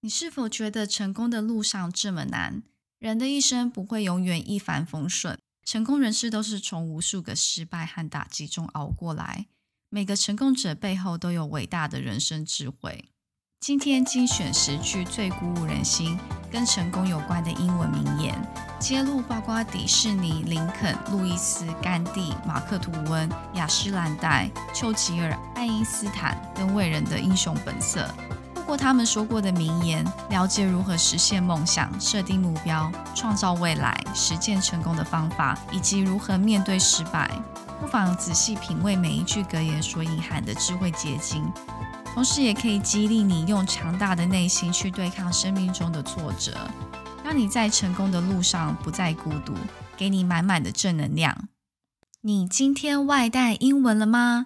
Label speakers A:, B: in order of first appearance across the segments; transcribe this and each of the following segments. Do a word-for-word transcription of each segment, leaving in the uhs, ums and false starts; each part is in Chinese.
A: 你是否觉得成功的路上这么难？人的一生不会永远一帆风顺，成功人士都是从无数个失败和打击中熬过来。每个成功者背后都有伟大的人生智慧。今天精选十句最鼓舞人心、跟成功有关的英文名言，揭露包括迪士尼、林肯、路易斯、甘地、马克吐温、雅诗兰黛、丘吉尔、爱因斯坦等伟人的英雄本色。透过他们说过的名言，了解如何实现梦想、设定目标、创造未来、实践成功的方法，以及如何面对失败。不妨仔细品味每一句格言所隐含的智慧结晶，同时也可以激励你用强大的内心去对抗生命中的挫折，让你在成功的路上不再孤独，给你满满的正能量。你今天外带英文了吗？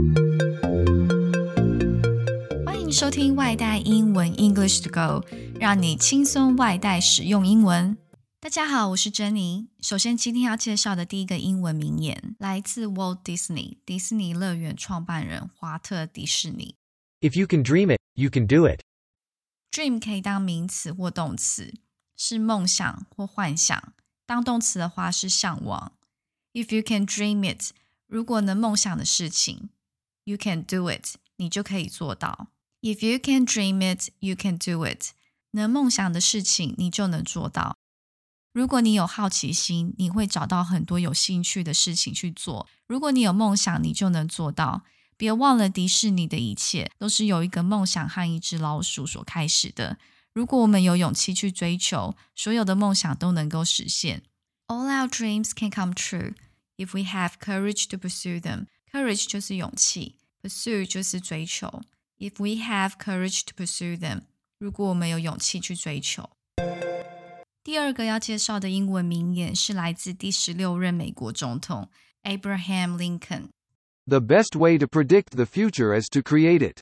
A: 欢迎收听外带英文 English to Go， 让你轻松外带使用英文。大家好，我是珍妮。首先今天要介绍的第一个英文名言来自 Walt Disney 迪士尼乐园创办人华特迪士尼。
B: If you can dream it, you can do it.
A: Dream 可以当名词或动词，是梦想或幻想。当动词的话是向往。 If you can dream it， 如果能梦想的事情， You can do it， 你就可以做到。 If you can dream it, you can do it， 能梦想的事情你就能做到。如果你有好奇心，你会找到很多有兴趣的事情去做。如果你有梦想，你就能做到。别忘了，迪士尼的一切都是由一个梦想和一只老鼠所开始的。如果我们有勇气去追求，所有的梦想都能够实现。All our dreams can come true if we have courage to pursue them. Courage 就是勇气， pursue 就是追求。If we have courage to pursue them， 如果我们有勇气去追求。第二个要介绍的英文名言是来自第十六任美国总统 Abraham Lincoln。The
B: best way to predict the future is to create it.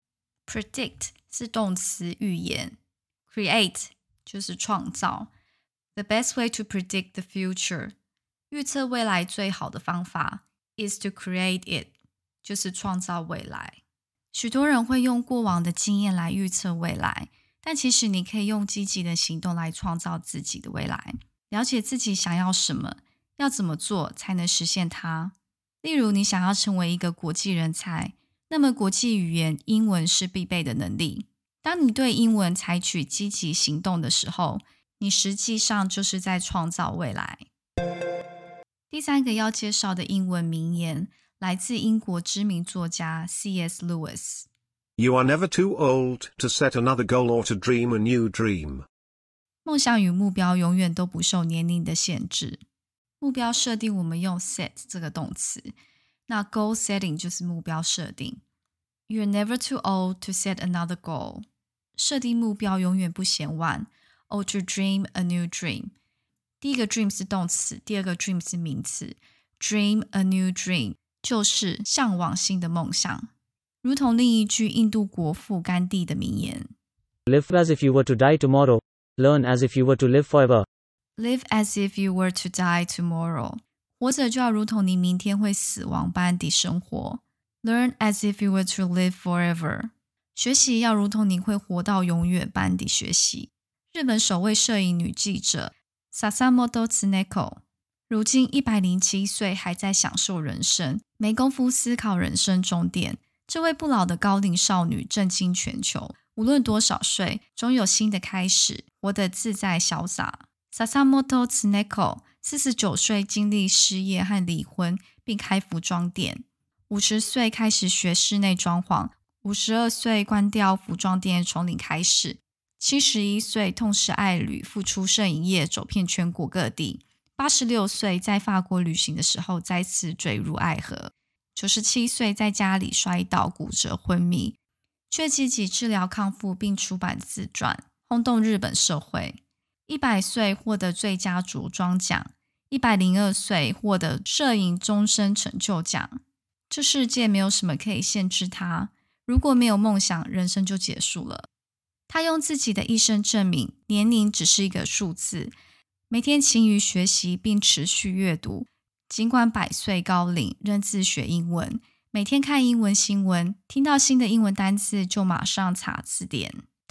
A: Predict 是动词预言， create 就是创造。The best way to predict the future， 预测未来最好的方法 is to create it， 就是创造未来。许多人会用过往的经验来预测未来，但其实你可以用积极的行动来创造自己的未来。了解自己想要什么，要怎么做才能实现它。例如你想要成为一个国际人才，那么国际语言英文是必备的能力。当你对英文采取积极行动的时候，你实际上就是在创造未来。第三个要介绍的英文名言来自英国知名作家 C S Lewis。You
C: are never too old to set another goal or to dream a new dream.
A: 梦想与目标永远都不受年龄的限制。目标设定我们用 set 这个动词，那 goal setting 就是目标设定。You're never too old to set another goal. 设定目标永远不嫌晚。Or to dream a new dream. 第一个 dream 是动词，第二个 dream 是名词。Dream a new dream 就是向往新的梦想。如同另一句印度国父甘地的名言
D: Live as if you were to die tomorrow. Learn as if you were to live forever.
A: Live as if you were to die tomorrow. 活着就要如同你明天会死亡般地生活。Learn as if you were to live forever. 学习要如同你会活到永远般地学习。日本首位摄影女记者 Sasamoto Tsuneko 如今一百零七岁，还在享受人生，没工夫思考人生终点。这位不老的高龄少女震惊全球，无论多少岁，总有新的开始，活得自在潇洒。Sasamoto Tsuneko 四十九岁经历失业和离婚，并开服装店。五十岁开始学室内装潢，五十二岁关掉服装店从零开始。七十一岁痛失爱侣，复出摄影业，走遍全国各地。八十六岁在法国旅行的时候再次坠入爱河。九十七岁在家里摔倒骨折昏迷，却积极治疗康复并出版自传，轰动日本社会。一百岁获得最佳着装奖，一百零二岁获得摄影终身成就奖。这世界没有什么可以限制他，如果没有梦想，人生就结束了。他用自己的一生证明，年龄只是一个数字。每天勤于学习并持续阅读，尽管百岁高龄，仍自学英文。每天看英文新闻，听到新的英文单字就马上查字典。他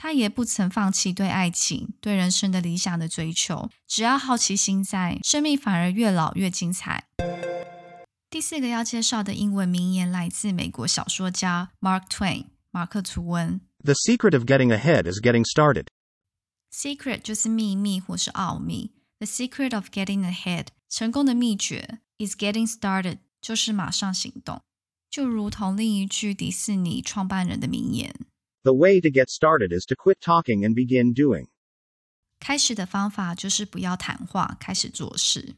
A: 他也不曾放弃对爱情、对人生的理想的追求，只要好奇心在，生命反而越老越精彩。第四个要介绍的英文名言来自美国小说家 Mark Twain 马克·吐温。
C: The secret of getting ahead is getting started.
A: Secret 就是秘密或是奥秘， The secret of getting ahead 成功的秘诀 is getting started 就是马上行动，就如同另一句迪士尼创办人的名言，
C: The way to get started is to quit talking and begin doing.
A: 开始的方法就是不要谈话，开始做事。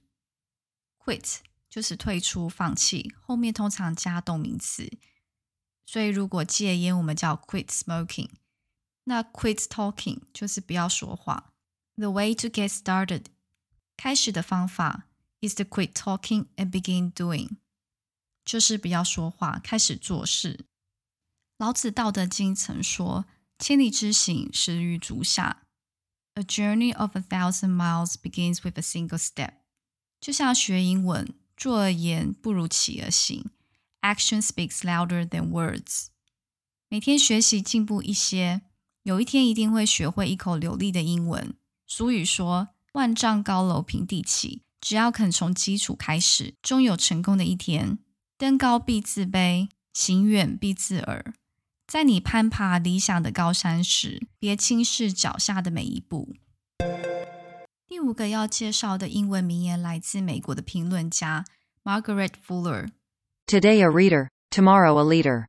A: Quit 就是退出放弃，后面通常加动名词，所以如果戒烟我们叫 quit smoking， 那 quit talking 就是不要说话。 The way to get started 开始的方法 is to quit talking and begin doing， 就是不要说话，开始做事。老子道德经曾说，千里之行，始于足下。 A journey of a thousand miles begins with a single step。 就像学英文，坐而言不如起而行， Action speaks louder than words。 每天学习进步一些，有一天一定会学会一口流利的英文。俗语说，万丈高楼平地起，只要肯从基础开始，终有成功的一天。登高必自卑，行远必自耳。在你攀爬理想的高山时，别轻视脚下的每一步。第五个要介绍的英文名言来自美国的评论家 Margaret Fuller。
E: Today a reader, tomorrow a leader.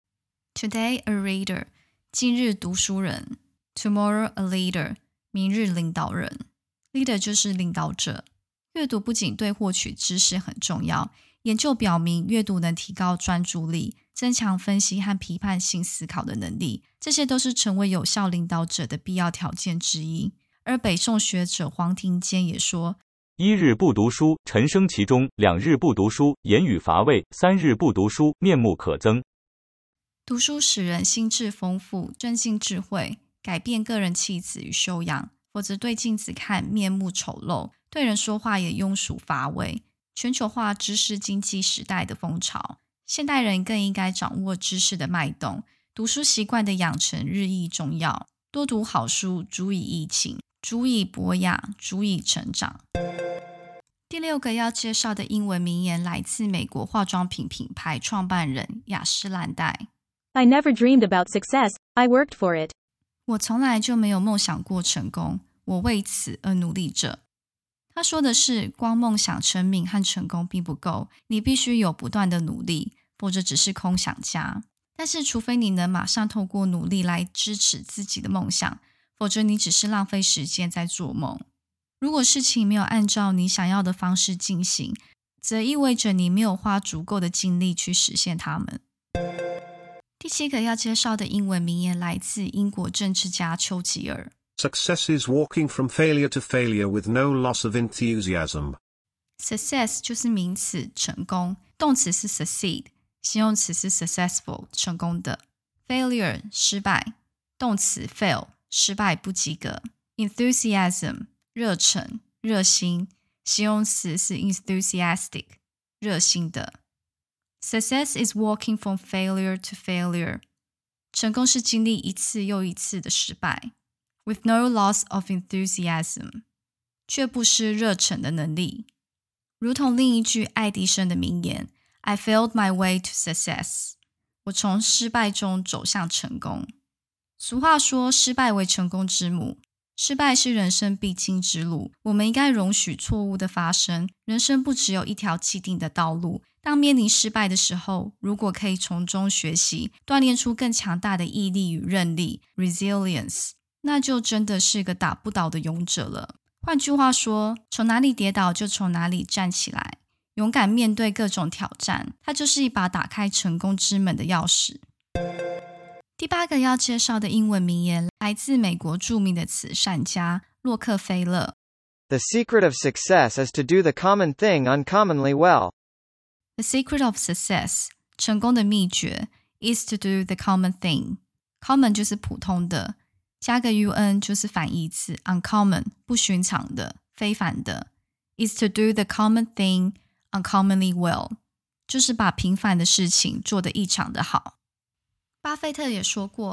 A: Today a reader， 今日读书人。 Tomorrow a leader， 明日领导人。 Leader 就是领导者。阅读不仅对获取知识很重要，研究表明阅读能提高专注力，增强分析和批判性思考的能力，这些都是成为有效领导者的必要条件之一。而北宋学者黄庭坚也说，
F: 一日不读书，沉生其中；两日不读书，言语乏味；三日不读书，面目可憎。
A: 读书使人心智丰富，增进智慧，改变个人气质与修养，否则对镜子看面目丑陋，对人说话也庸俗乏味。全球化知识经济时代的风潮，现代人更应该掌握知识的脉动，读书习惯的养成日益重要。多读好书，足以怡情，足以博雅，足以成长。第六个要介绍的英文名言来自美国化妆品品牌创办人雅诗兰黛。
G: I never dreamed about success, I worked for it.
A: 我从来就没有梦想过成功，我为此而努力着。他说的是，光梦想成名和成功并不够，你必须有不断的努力，否则只是空想家。但是除非你能马上透过努力来支持自己的梦想，否则你只是浪费时间在做梦。如果事情没有按照你想要的方式进行，则意味着你没有花足够的精力去实现它们。第七个要介绍的英文名言来自英国政治家丘吉尔。
C: Success is walking from failure to failure with no loss of enthusiasm.
A: Success 就是名词成功，动词是 succeed， 形容词是 successful 成功的。Failure 失败，动词 fail 失败不及格。Enthusiasm 热忱热心，形容词是 enthusiastic 热心的。Success is walking from failure to failure， 成功是经历一次又一次的失败。With no loss of enthusiasm， 却不失热忱的能力。如同另一句爱迪生的名言 I failed my way to success， 我从失败中走向成功。俗话说失败为成功之母，失败是人生必经之路，我们应该容许错误的发生。人生不只有一条既定的道路，当面临失败的时候，如果可以从中学习，锻炼出更强大的毅力与韧力 resilience，那就真的是个打不倒的勇者了。换句话说，从哪里跌倒就从哪里站起来，勇敢面对各种挑战，它就是一把打开成功之门的钥匙。第八个要介绍的英文名言来自美国著名的慈善家洛克菲勒。
H: The secret of success is to do the common thing uncommonly well.
A: The secret of success 成功的秘诀 is to do the common thing。 Common 就是普通的，加个 un 就是反义词 uncommon 不寻常的非凡的。 is to do the common thing uncommonly well 就是把平凡的事情做得异常的好。巴菲特也说过，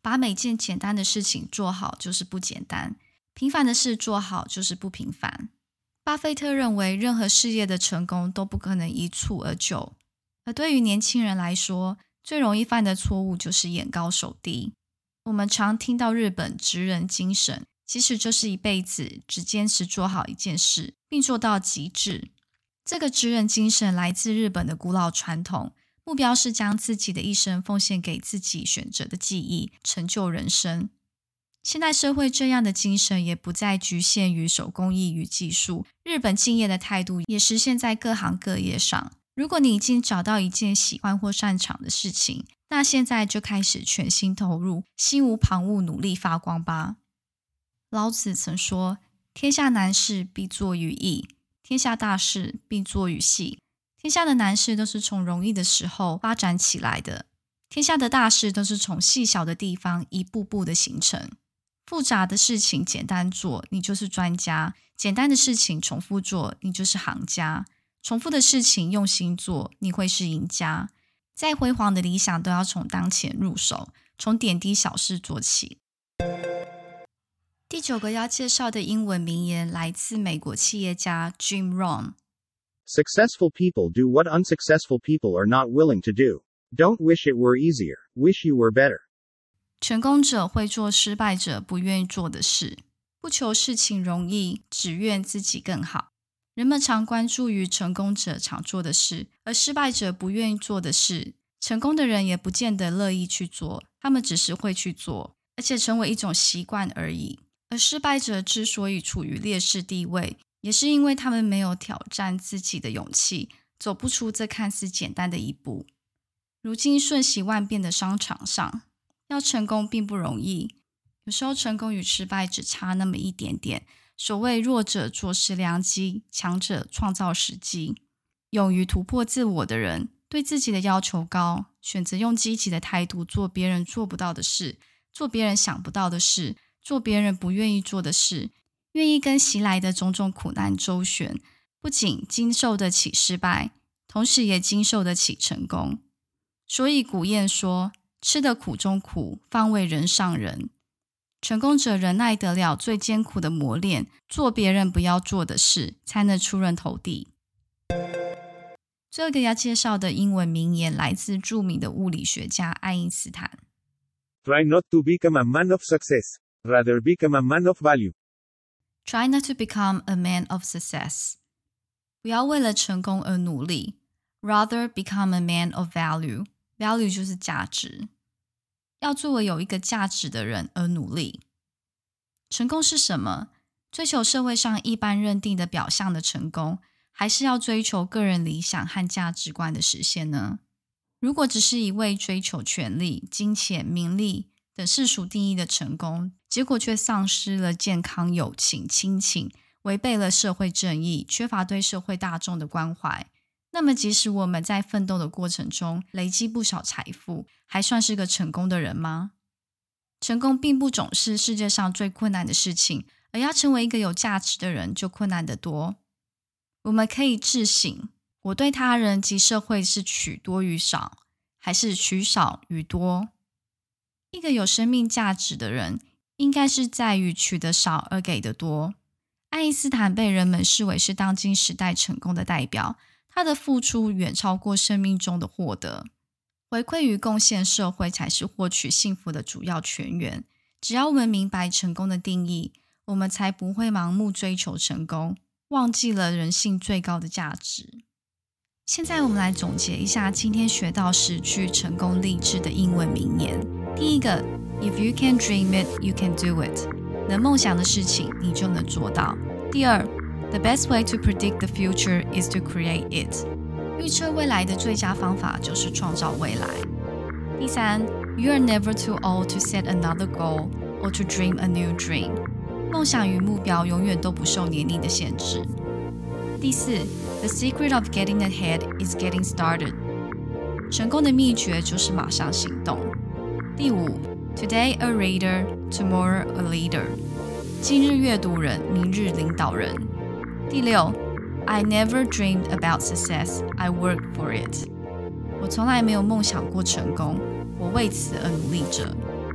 A: 把每件简单的事情做好就是不简单，平凡的事做好就是不平凡。巴菲特认为任何事业的成功都不可能一蹴而就，而对于年轻人来说，最容易犯的错误就是眼高手低。我们常听到日本职人精神，其实就是一辈子只坚持做好一件事，并做到极致。这个职人精神来自日本的古老传统，目标是将自己的一生奉献给自己选择的技艺，成就人生。现代社会这样的精神也不再局限于手工艺与技术，日本敬业的态度也实现在各行各业上。如果你已经找到一件喜欢或擅长的事情，那现在就开始全心投入，心无旁骛，努力发光吧。老子曾说，天下难事必作于易，天下大事必作于细。天下的难事都是从容易的时候发展起来的，天下的大事都是从细小的地方一步步的形成。复杂的事情简单做，你就是专家；简单的事情重复做，你就是行家；重复的事情用心做，你会是赢家。再辉煌的理想都要从当前入手，从点滴小事做起。第九个要介绍的英文名言来自美国企业家 Jim Rohn。Successful
I: people do what unsuccessful people are not willing to do. Don't wish it were easier, wish you were better.
A: 成功者会做失败者不愿意做的事，不求事情容易，只愿自己更好。人们常关注于成功者常做的事，而失败者不愿意做的事，成功的人也不见得乐意去做，他们只是会去做，而且成为一种习惯而已。而失败者之所以处于劣势地位，也是因为他们没有挑战自己的勇气，走不出这看似简单的一步。如今瞬息万变的商场上，要成功并不容易，有时候成功与失败只差那么一点点。所谓弱者坐失良机，强者创造时机。勇于突破自我的人，对自己的要求高，选择用积极的态度做别人做不到的事，做别人想不到的事，做别人不愿意做的事，愿意跟袭来的种种苦难周旋，不仅经受得起失败，同时也经受得起成功。所以古谚说，吃得苦中苦，方为人上人。成功者忍耐得了最艰苦的磨练，做别人不要做的事，才能出人头地。最后一个要介绍的英文名言来自著名的物理学家爱因斯坦。
I: Try not to become a man of success, rather become a man of value.
A: Try not to become a man of success. 不要为了成功而努力， rather become a man of value. Value 就是价值。要作为有一个价值的人而努力。成功是什么？追求社会上一般认定的表象的成功，还是要追求个人理想和价值观的实现呢？如果只是一味追求权力、金钱、名利等世俗定义的成功，结果却丧失了健康、友情、亲情，违背了社会正义，缺乏对社会大众的关怀，那么即使我们在奋斗的过程中累积不少财富，还算是个成功的人吗？成功并不总是世界上最困难的事情，而要成为一个有价值的人就困难得多。我们可以自省，我对他人及社会是取多于少，还是取少于多？一个有生命价值的人，应该是在于取得少而给得多。爱因斯坦被人们视为是当今时代成功的代表，他的付出远超过生命中的获得，回馈与贡献社会才是获取幸福的主要泉源。只要我们明白成功的定义，我们才不会盲目追求成功，忘记了人性最高的价值。现在我们来总结一下今天学到十句成功励志的英文名言。第一个 ，If you can dream it, you can do it。能梦想的事情，你就能做到。第二，The best way to predict the future is to create it. 预测未来的最佳方法就是创造未来。第三 ，You are never too old to set another goal or to dream a new dream. 梦想与目标永远都不受年龄的限制。第四 ，The secret of getting ahead is getting started. 成功的秘诀就是马上行动。第五 ，Today a reader, tomorrow a leader. 今日阅读人，明日领导人。第六 I never dreamed about success, I worked for it. 我从来没有梦想过成功，我为此而努力着。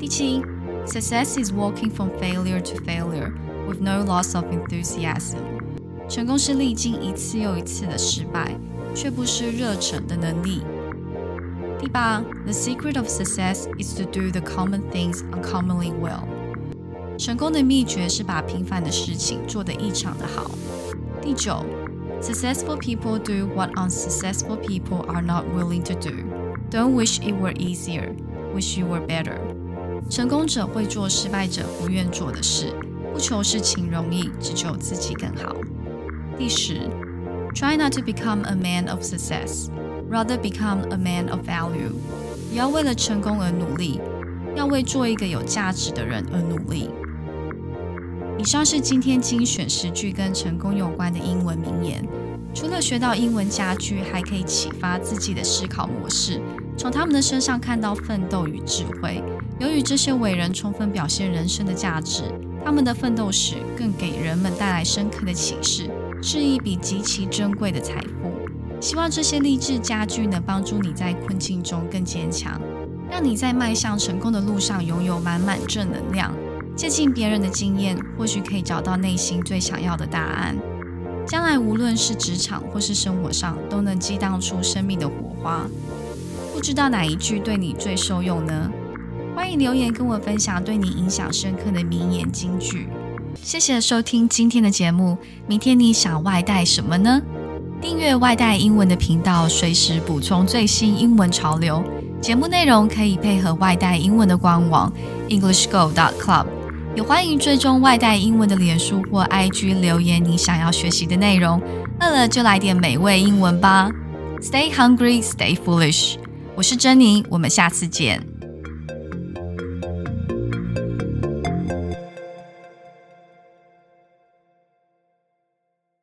A: 第七 Success is walking from failure to failure with no loss of enthusiasm. 成功是历经一次又一次的失败，却不失热忱的能力。第八 The secret of success is to do the common things uncommonly well. 成功的秘诀是把平凡的事情做得异常的好。第九 Successful people do what unsuccessful people are not willing to do. Don't wish it were easier, wish you were better. 成功者会做失败者不愿做的事，不求事情容易，只求自己更好。第十 Try not to become a man of success, rather become a man of value. 不要为了成功而努力，要为做一个有价值的人而努力。以上是今天精选十句跟成功有关的英文名言。除了学到英文佳句，还可以启发自己的思考模式，从他们的身上看到奋斗与智慧。由于这些伟人充分表现人生的价值，他们的奋斗史更给人们带来深刻的启示，是一笔极其珍贵的财富。希望这些励志佳句能帮助你在困境中更坚强，让你在迈向成功的路上拥有满满正能量。借鉴别人的经验，或许可以找到内心最想要的答案。将来无论是职场或是生活上，都能激荡出生命的火花。不知道哪一句对你最受用呢？欢迎留言跟我分享对你影响深刻的名言金句。谢谢收听今天的节目，明天你想外带什么呢？订阅外带英文的频道，随时补充最新英文潮流。节目内容可以配合外带英文的官网 english go dot club。也欢迎追踪外带英文的脸书或 I G 留言你想要学习的内容。饿了就来点美味英文吧。Stay hungry, stay foolish。我是珍妮，我们下次见。